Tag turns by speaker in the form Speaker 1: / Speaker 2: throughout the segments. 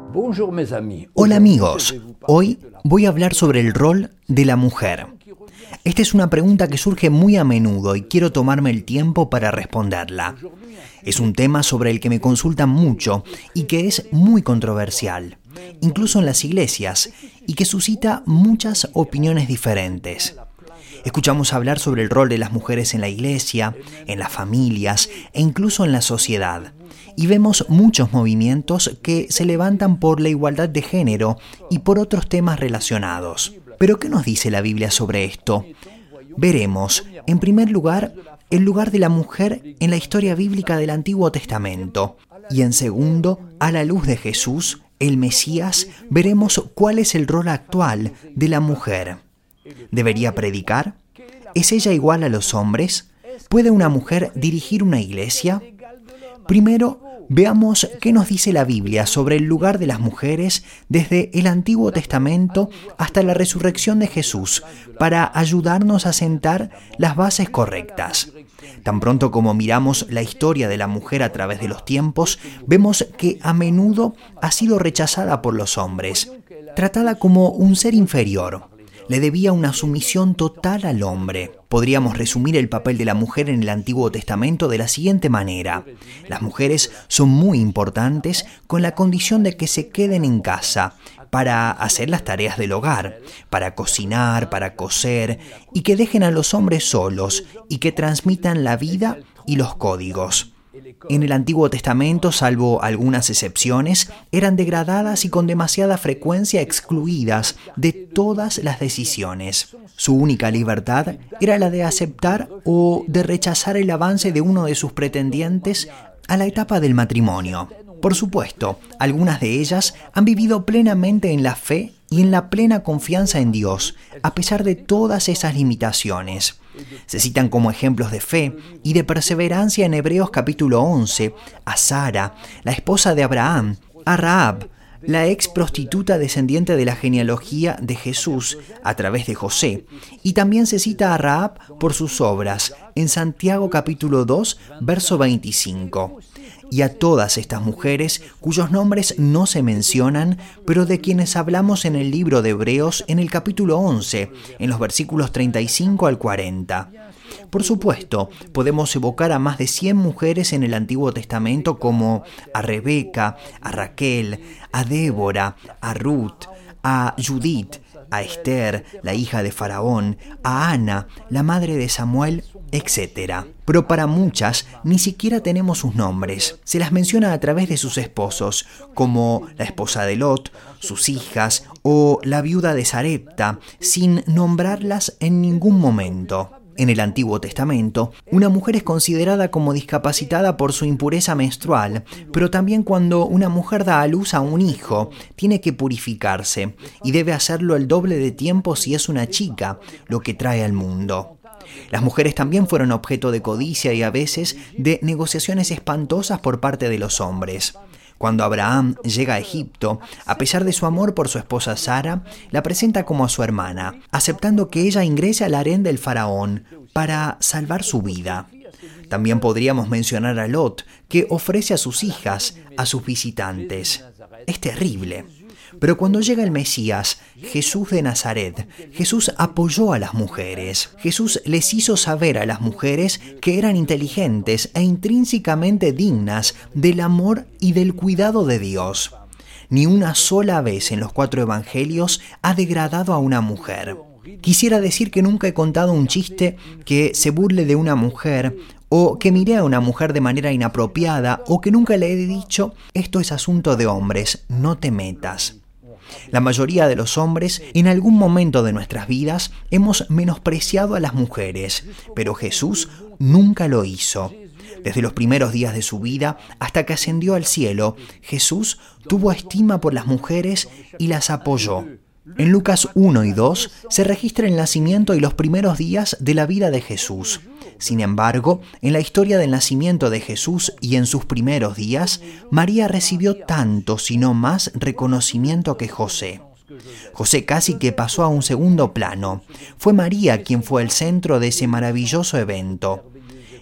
Speaker 1: Hola amigos, hoy voy a hablar sobre el rol de la mujer. Esta es una pregunta que surge muy a menudo y quiero tomarme el tiempo para responderla. Es un tema sobre el que me consultan mucho y que es muy controversial, incluso en las iglesias, y que suscita muchas opiniones diferentes. Escuchamos hablar sobre el rol de las mujeres en la iglesia, en las familias e incluso en la sociedad. Y vemos muchos movimientos que se levantan por la igualdad de género y por otros temas relacionados. ¿Pero qué nos dice la Biblia sobre esto? Veremos, en primer lugar, el lugar de la mujer en la historia bíblica del Antiguo Testamento. Y en segundo, a la luz de Jesús, el Mesías, veremos cuál es el rol actual de la mujer. ¿Debería predicar? ¿Es ella igual a los hombres? ¿Puede una mujer dirigir una iglesia? Primero, veamos qué nos dice la Biblia sobre el lugar de las mujeres desde el Antiguo Testamento hasta la resurrección de Jesús, para ayudarnos a sentar las bases correctas. Tan pronto como miramos la historia de la mujer a través de los tiempos, vemos que a menudo ha sido rechazada por los hombres, tratada como un ser inferior. Le debía una sumisión total al hombre. Podríamos resumir el papel de la mujer en el Antiguo Testamento de la siguiente manera. Las mujeres son muy importantes con la condición de que se queden en casa para hacer las tareas del hogar, para cocinar, para coser, y que dejen a los hombres solos y que transmitan la vida y los códigos. En el Antiguo Testamento, salvo algunas excepciones, eran degradadas y con demasiada frecuencia excluidas de todas las decisiones. Su única libertad era la de aceptar o de rechazar el avance de uno de sus pretendientes a la etapa del matrimonio. Por supuesto, algunas de ellas han vivido plenamente en la fe y en la plena confianza en Dios, a pesar de todas esas limitaciones. Se citan como ejemplos de fe y de perseverancia en Hebreos capítulo 11 a Sara, la esposa de Abraham, a Rahab, la ex prostituta descendiente de la genealogía de Jesús a través de José, y también se cita a Rahab por sus obras en Santiago capítulo 2, verso 25. Y a todas estas mujeres cuyos nombres no se mencionan, pero de quienes hablamos en el libro de Hebreos en el capítulo 11, en los versículos 35 al 40. Por supuesto, podemos evocar a más de 100 mujeres en el Antiguo Testamento como a Rebeca, a Raquel, a Débora, a Ruth, a Judith, a Esther, la hija de Faraón, a Ana, la madre de Samuel, etc. Pero para muchas ni siquiera tenemos sus nombres. Se las menciona a través de sus esposos, como la esposa de Lot, sus hijas o la viuda de Sarepta, sin nombrarlas en ningún momento. En el Antiguo Testamento, una mujer es considerada como discapacitada por su impureza menstrual, pero también cuando una mujer da a luz a un hijo, tiene que purificarse y debe hacerlo el doble de tiempo si es una chica, lo que trae al mundo. Las mujeres también fueron objeto de codicia y a veces de negociaciones espantosas por parte de los hombres. Cuando Abraham llega a Egipto, a pesar de su amor por su esposa Sara, la presenta como a su hermana, aceptando que ella ingrese al harén del faraón para salvar su vida. También podríamos mencionar a Lot, que ofrece a sus hijas a sus visitantes. Es terrible. Pero cuando llega el Mesías, Jesús de Nazaret, Jesús apoyó a las mujeres. Jesús les hizo saber a las mujeres que eran inteligentes e intrínsecamente dignas del amor y del cuidado de Dios. Ni una sola vez en los 4 evangelios ha degradado a una mujer. Quisiera decir que nunca he contado un chiste que se burle de una mujer, o que miré a una mujer de manera inapropiada, o que nunca le he dicho, esto es asunto de hombres, no te metas. La mayoría de los hombres, en algún momento de nuestras vidas, hemos menospreciado a las mujeres, pero Jesús nunca lo hizo. Desde los primeros días de su vida hasta que ascendió al cielo, Jesús tuvo estima por las mujeres y las apoyó. En Lucas 1 y 2 se registra el nacimiento y los primeros días de la vida de Jesús. Sin embargo, en la historia del nacimiento de Jesús y en sus primeros días, María recibió tanto, si no más, reconocimiento que José. José casi que pasó a un segundo plano. Fue María quien fue el centro de ese maravilloso evento.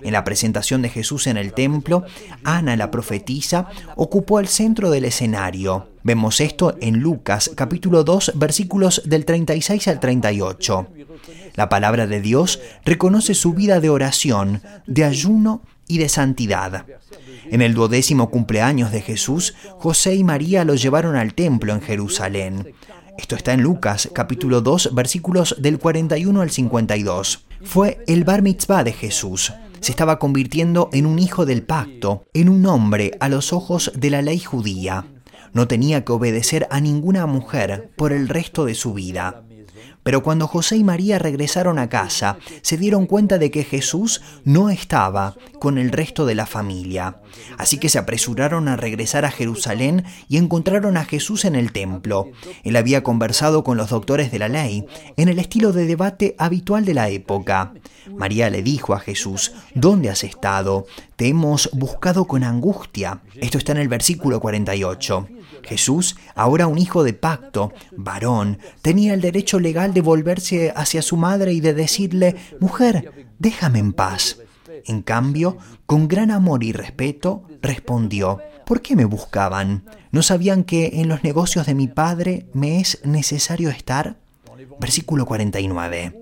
Speaker 1: En la presentación de Jesús en el templo, Ana, la profetisa, ocupó el centro del escenario. Vemos esto en Lucas, capítulo 2, versículos del 36 al 38. La palabra de Dios reconoce su vida de oración, de ayuno y de santidad. En el 12º cumpleaños de Jesús, José y María lo llevaron al templo en Jerusalén. Esto está en Lucas, capítulo 2, versículos del 41 al 52. Fue el bar mitzvah de Jesús. Se estaba convirtiendo en un hijo del pacto, en un hombre a los ojos de la ley judía. No tenía que obedecer a ninguna mujer por el resto de su vida. Pero cuando José y María regresaron a casa, se dieron cuenta de que Jesús no estaba con el resto de la familia. Así que se apresuraron a regresar a Jerusalén y encontraron a Jesús en el templo. Él había conversado con los doctores de la ley, en el estilo de debate habitual de la época. María le dijo a Jesús: ¿Dónde has estado? Te hemos buscado con angustia. Esto está en el versículo 48. Jesús, ahora un hijo de pacto, varón, tenía el derecho legal de volverse hacia su madre y de decirle: mujer, déjame en paz. En cambio, con gran amor y respeto, respondió: ¿por qué me buscaban? ¿No sabían que en los negocios de mi padre me es necesario estar? Versículo 49.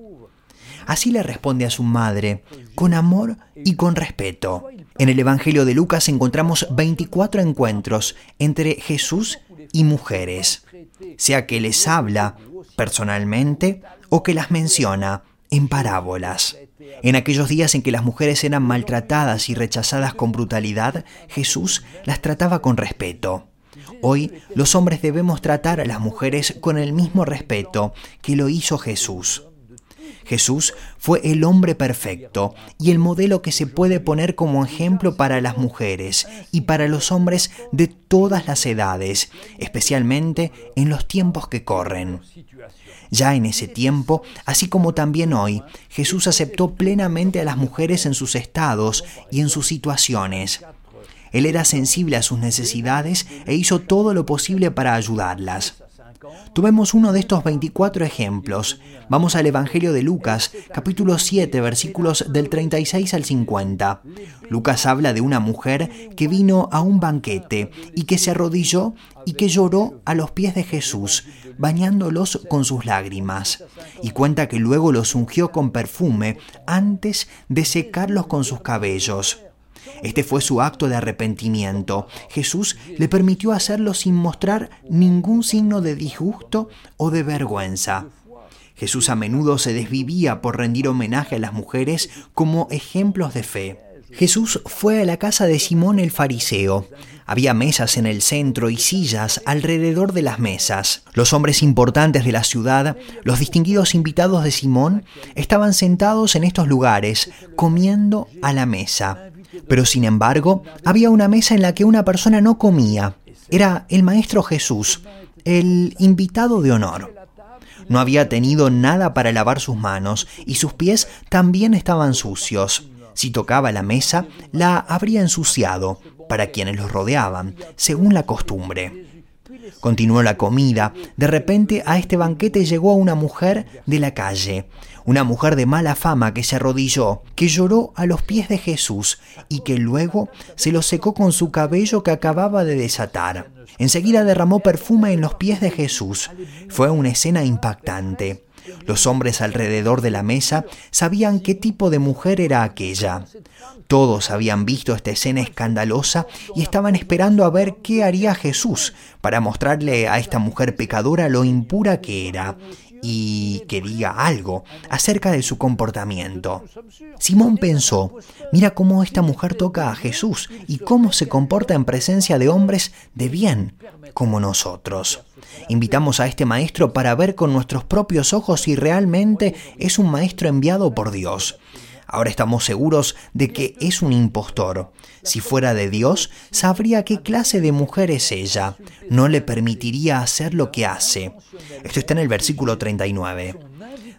Speaker 1: Así le responde a su madre, con amor y con respeto. En el Evangelio de Lucas encontramos 24 encuentros entre Jesús y mujeres, sea que les habla personalmente o que las menciona en parábolas. En aquellos días en que las mujeres eran maltratadas y rechazadas con brutalidad, Jesús las trataba con respeto. Hoy los hombres debemos tratar a las mujeres con el mismo respeto que lo hizo Jesús. Jesús fue el hombre perfecto y el modelo que se puede poner como ejemplo para las mujeres y para los hombres de todas las edades, especialmente en los tiempos que corren. Ya en ese tiempo, así como también hoy, Jesús aceptó plenamente a las mujeres en sus estados y en sus situaciones. Él era sensible a sus necesidades e hizo todo lo posible para ayudarlas. Tomemos uno de estos 24 ejemplos. Vamos al Evangelio de Lucas, capítulo 7, versículos del 36 al 50. Lucas habla de una mujer que vino a un banquete y que se arrodilló y que lloró a los pies de Jesús, bañándolos con sus lágrimas. Y cuenta que luego los ungió con perfume antes de secarlos con sus cabellos. Este fue su acto de arrepentimiento. Jesús le permitió hacerlo sin mostrar ningún signo de disgusto o de vergüenza. Jesús a menudo se desvivía por rendir homenaje a las mujeres como ejemplos de fe. Jesús fue a la casa de Simón el fariseo. Había mesas en el centro y sillas alrededor de las mesas. Los hombres importantes de la ciudad, los distinguidos invitados de Simón, estaban sentados en estos lugares, comiendo a la mesa. Pero sin embargo, había una mesa en la que una persona no comía. Era el Maestro Jesús, el invitado de honor. No había tenido nada para lavar sus manos y sus pies también estaban sucios. Si tocaba la mesa, la habría ensuciado para quienes los rodeaban, según la costumbre. Continuó la comida. De repente a este banquete llegó una mujer de la calle, una mujer de mala fama que se arrodilló, que lloró a los pies de Jesús y que luego se lo secó con su cabello que acababa de desatar. Enseguida derramó perfume en los pies de Jesús. Fue una escena impactante. Los hombres alrededor de la mesa sabían qué tipo de mujer era aquella. Todos habían visto esta escena escandalosa y estaban esperando a ver qué haría Jesús para mostrarle a esta mujer pecadora lo impura que era y que diga algo acerca de su comportamiento. Simón pensó: mira cómo esta mujer toca a Jesús y cómo se comporta en presencia de hombres de bien como nosotros. Invitamos a este maestro para ver con nuestros propios ojos si realmente es un maestro enviado por Dios. Ahora estamos seguros de que es un impostor. Si fuera de Dios, sabría qué clase de mujer es ella. No le permitiría hacer lo que hace. Esto está en el versículo 39.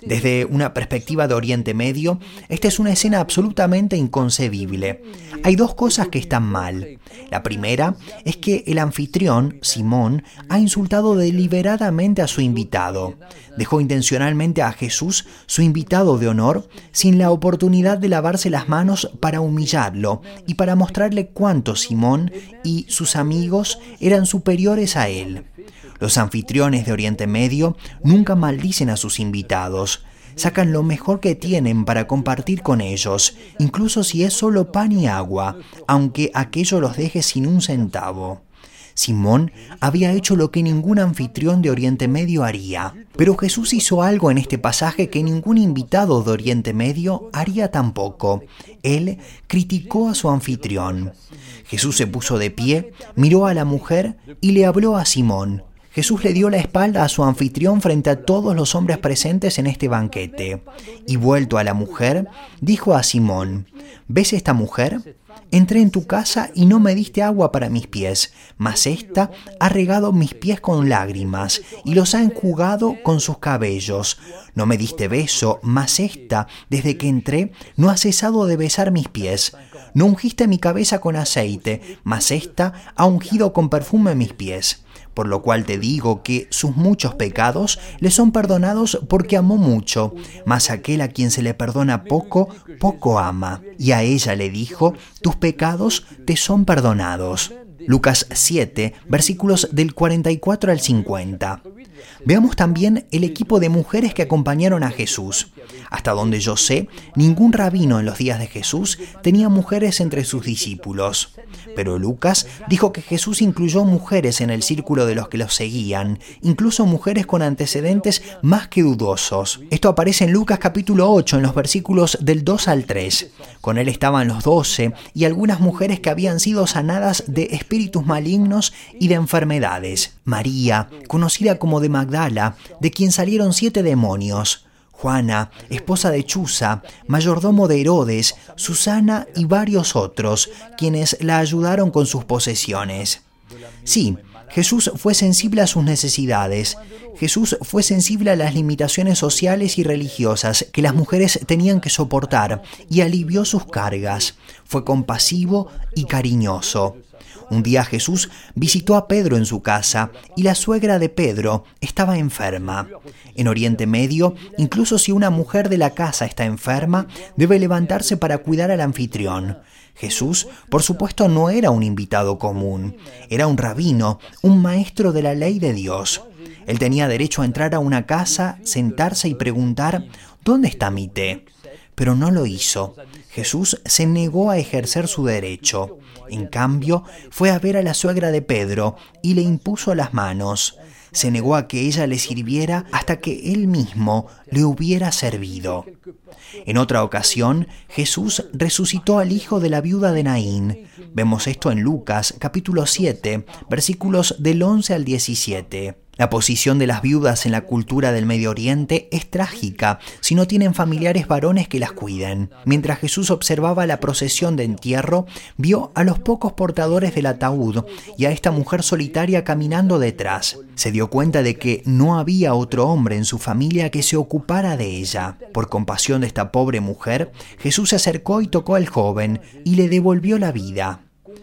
Speaker 1: Desde una perspectiva de Oriente Medio, esta es una escena absolutamente inconcebible. Hay dos cosas que están mal. La primera es que el anfitrión, Simón, ha insultado deliberadamente a su invitado. Dejó intencionalmente a Jesús, su invitado de honor, sin la oportunidad de lavarse las manos para humillarlo y para mostrarle cuánto Simón y sus amigos eran superiores a él. Los anfitriones de Oriente Medio nunca maldicen a sus invitados. Sacan lo mejor que tienen para compartir con ellos, incluso si es solo pan y agua, aunque aquello los deje sin un centavo. Simón había hecho lo que ningún anfitrión de Oriente Medio haría. Pero Jesús hizo algo en este pasaje que ningún invitado de Oriente Medio haría tampoco. Él criticó a su anfitrión. Jesús se puso de pie, miró a la mujer y le habló a Simón. Jesús le dio la espalda a su anfitrión frente a todos los hombres presentes en este banquete. Y vuelto a la mujer, dijo a Simón: ¿Ves esta mujer? Entré en tu casa y no me diste agua para mis pies, mas ésta ha regado mis pies con lágrimas y los ha enjugado con sus cabellos. No me diste beso, mas ésta, desde que entré, no ha cesado de besar mis pies. No ungiste mi cabeza con aceite, mas ésta ha ungido con perfume mis pies. Por lo cual te digo que sus muchos pecados le son perdonados porque amó mucho, mas aquel a quien se le perdona poco, poco ama. Y a ella le dijo: tus pecados te son perdonados. Lucas 7, versículos del 44 al 50. Veamos también el equipo de mujeres que acompañaron a Jesús. Hasta donde yo sé, ningún rabino en los días de Jesús tenía mujeres entre sus discípulos. Pero Lucas dijo que Jesús incluyó mujeres en el círculo de los que los seguían, incluso mujeres con antecedentes más que dudosos. Esto aparece en Lucas capítulo 8, en los versículos del 2 al 3. Con él estaban los 12 y algunas mujeres que habían sido sanadas de espíritus malignos y de enfermedades. María, conocida como de Magdala, de quien salieron 7 demonios. Juana, esposa de Chuza, mayordomo de Herodes, Susana y varios otros, quienes la ayudaron con sus posesiones. Sí, Jesús fue sensible a sus necesidades. Jesús fue sensible a las limitaciones sociales y religiosas que las mujeres tenían que soportar y alivió sus cargas. Fue compasivo y cariñoso. Un día Jesús visitó a Pedro en su casa y la suegra de Pedro estaba enferma. En Oriente Medio, incluso si una mujer de la casa está enferma, debe levantarse para cuidar al anfitrión. Jesús, por supuesto, no era un invitado común. Era un rabino, un maestro de la ley de Dios. Él tenía derecho a entrar a una casa, sentarse y preguntar: ¿dónde está mi té? Pero no lo hizo. Jesús se negó a ejercer su derecho. En cambio, fue a ver a la suegra de Pedro y le impuso las manos. Se negó a que ella le sirviera hasta que él mismo le hubiera servido. En otra ocasión, Jesús resucitó al hijo de la viuda de Naín. Vemos esto en Lucas, capítulo 7, versículos del 11 al 17. La posición de las viudas en la cultura del Medio Oriente es trágica si no tienen familiares varones que las cuiden. Mientras Jesús observaba la procesión de entierro, vio a los pocos portadores del ataúd y a esta mujer solitaria caminando detrás. Se dio cuenta de que no había otro hombre en su familia que se ocupara de ella. Por compasión de esta pobre mujer, Jesús se acercó y tocó al joven y le devolvió la vida.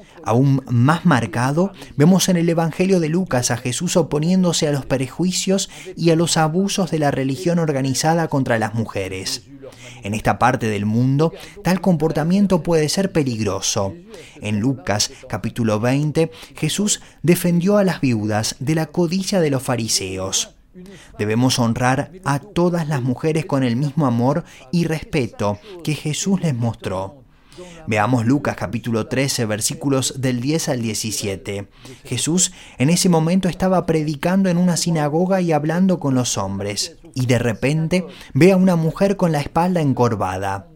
Speaker 1: Aún más marcado, vemos en el Evangelio de Lucas a Jesús oponiéndose a los prejuicios y a los abusos de la religión organizada contra las mujeres. En esta parte del mundo, tal comportamiento puede ser peligroso. En Lucas, capítulo 20, Jesús defendió a las viudas de la codicia de los fariseos. Debemos honrar a todas las mujeres con el mismo amor y respeto que Jesús les mostró. Veamos Lucas capítulo 13, versículos del 10 al 17. Jesús en ese momento estaba predicando en una sinagoga y hablando con los hombres. Y de repente ve a una mujer con la espalda encorvada.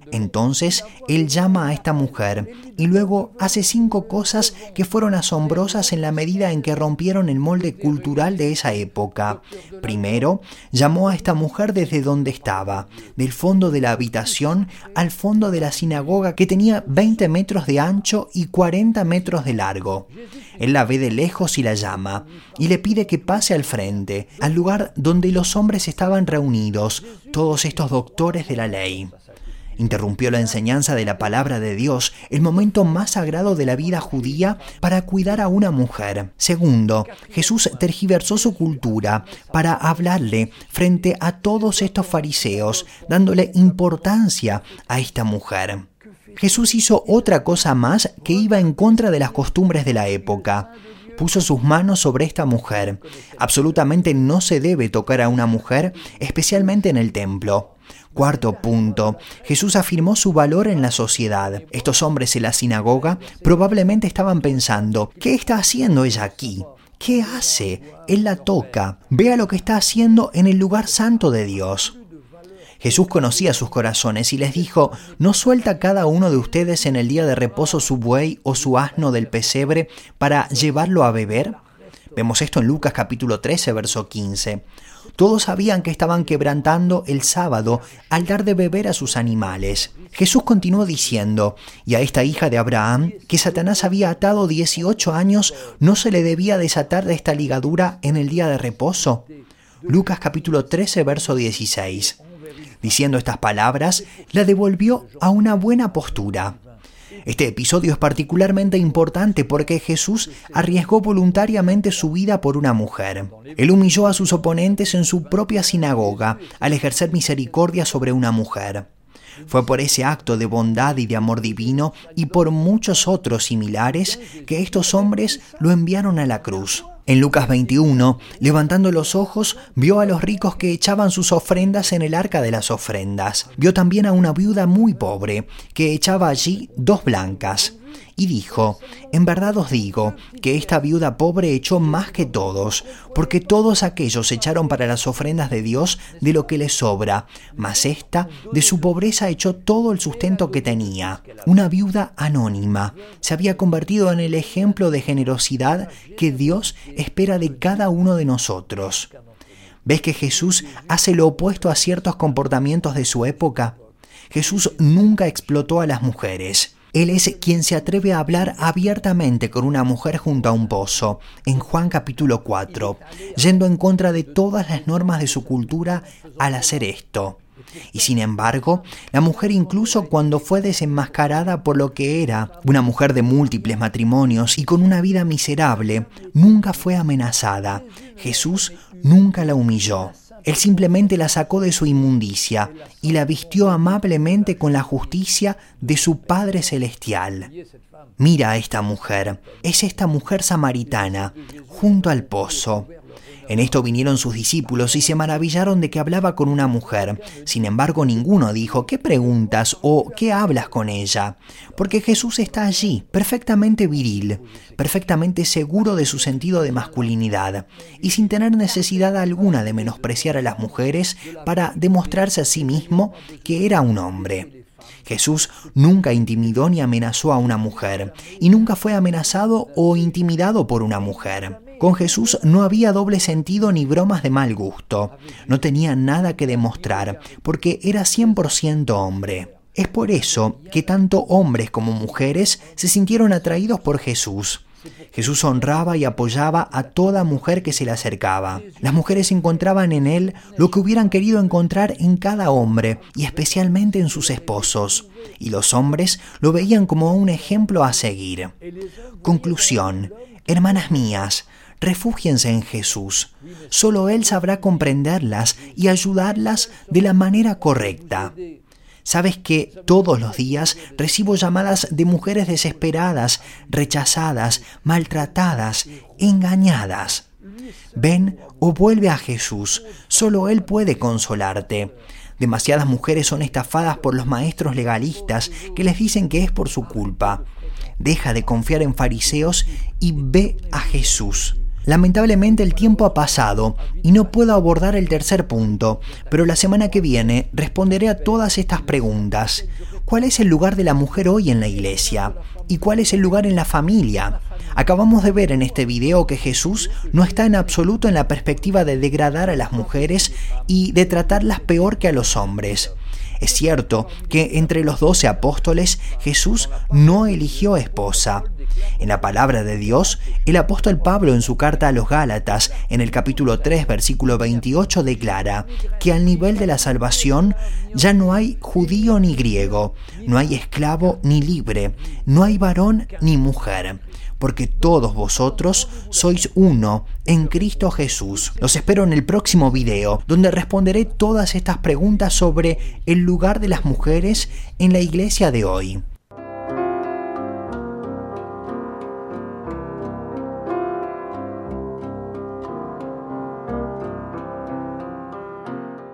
Speaker 1: Entonces, él llama a esta mujer y luego hace 5 cosas que fueron asombrosas en la medida en que rompieron el molde cultural de esa época. Primero, llamó a esta mujer desde donde estaba, del fondo de la habitación al fondo de la sinagoga que tenía 20 metros de ancho y 40 metros de largo. Él la ve de lejos y la llama, y le pide que pase al frente, al lugar donde los hombres estaban reunidos, todos estos doctores de la ley. Interrumpió la enseñanza de la palabra de Dios, el momento más sagrado de la vida judía, para cuidar a una mujer. Segundo, Jesús tergiversó su cultura para hablarle frente a todos estos fariseos, dándole importancia a esta mujer. Jesús hizo otra cosa más que iba en contra de las costumbres de la época. Puso sus manos sobre esta mujer. Absolutamente no se debe tocar a una mujer, especialmente en el templo. Cuarto punto, Jesús afirmó su valor en la sociedad. Estos hombres en la sinagoga probablemente estaban pensando, ¿qué está haciendo ella aquí? ¿Qué hace? Él la toca. Vea lo que está haciendo en el lugar santo de Dios. Jesús conocía sus corazones y les dijo, ¿no suelta cada uno de ustedes en el día de reposo su buey o su asno del pesebre para llevarlo a beber? Vemos esto en Lucas capítulo 13, verso 15. Todos sabían que estaban quebrantando el sábado al dar de beber a sus animales. Jesús continuó diciendo, y a esta hija de Abraham, que Satanás había atado 18 años, ¿no se le debía desatar de esta ligadura en el día de reposo? Lucas capítulo 13, verso 16. Diciendo estas palabras, la devolvió a una buena postura. Este episodio es particularmente importante porque Jesús arriesgó voluntariamente su vida por una mujer. Él humilló a sus oponentes en su propia sinagoga al ejercer misericordia sobre una mujer. Fue por ese acto de bondad y de amor divino y por muchos otros similares que estos hombres lo enviaron a la cruz. En Lucas 21, levantando los ojos, vio a los ricos que echaban sus ofrendas en el arca de las ofrendas. Vio también a una viuda muy pobre, que echaba allí 2 blancas. Y dijo, en verdad os digo, que esta viuda pobre echó más que todos, porque todos aquellos echaron para las ofrendas de Dios de lo que les sobra, mas esta de su pobreza echó todo el sustento que tenía. Una viuda anónima se había convertido en el ejemplo de generosidad que Dios espera de cada uno de nosotros. ¿Ves que Jesús hace lo opuesto a ciertos comportamientos de su época? Jesús nunca explotó a las mujeres. Él es quien se atreve a hablar abiertamente con una mujer junto a un pozo, en Juan capítulo 4, yendo en contra de todas las normas de su cultura al hacer esto. Y sin embargo, la mujer, incluso cuando fue desenmascarada por lo que era, una mujer de múltiples matrimonios y con una vida miserable, nunca fue amenazada. Jesús nunca la humilló. Él simplemente la sacó de su inmundicia y la vistió amablemente con la justicia de su Padre Celestial. Mira a esta mujer, es esta mujer samaritana, junto al pozo. En esto vinieron sus discípulos y se maravillaron de que hablaba con una mujer. Sin embargo, ninguno dijo, ¿qué preguntas o qué hablas con ella? Porque Jesús está allí, perfectamente viril, perfectamente seguro de su sentido de masculinidad y sin tener necesidad alguna de menospreciar a las mujeres para demostrarse a sí mismo que era un hombre. Jesús nunca intimidó ni amenazó a una mujer y nunca fue amenazado o intimidado por una mujer. Con Jesús no había doble sentido ni bromas de mal gusto. No tenía nada que demostrar, porque era 100% hombre. Es por eso que tanto hombres como mujeres se sintieron atraídos por Jesús. Jesús honraba y apoyaba a toda mujer que se le acercaba. Las mujeres encontraban en él lo que hubieran querido encontrar en cada hombre, y especialmente en sus esposos. Y los hombres lo veían como un ejemplo a seguir. Conclusión. Hermanas mías, refúgiense en Jesús. Solo Él sabrá comprenderlas y ayudarlas de la manera correcta. ¿Sabes que todos los días recibo llamadas de mujeres desesperadas, rechazadas, maltratadas, engañadas? Ven o vuelve a Jesús. Solo Él puede consolarte. Demasiadas mujeres son estafadas por los maestros legalistas que les dicen que es por su culpa. Deja de confiar en fariseos y ve a Jesús. Lamentablemente el tiempo ha pasado y no puedo abordar el tercer punto, pero la semana que viene responderé a todas estas preguntas. ¿Cuál es el lugar de la mujer hoy en la iglesia? ¿Y cuál es el lugar en la familia? Acabamos de ver en este video que Jesús no está en absoluto en la perspectiva de degradar a las mujeres y de tratarlas peor que a los hombres. Es cierto que entre los 12 apóstoles Jesús no eligió esposa. En la palabra de Dios, el apóstol Pablo en su carta a los Gálatas, en el capítulo 3, versículo 28, declara que al nivel de la salvación ya no hay judío ni griego, no hay esclavo ni libre, no hay varón ni mujer, porque todos vosotros sois uno en Cristo Jesús. Los espero en el próximo video, donde responderé todas estas preguntas sobre el lugar de las mujeres en la iglesia de hoy.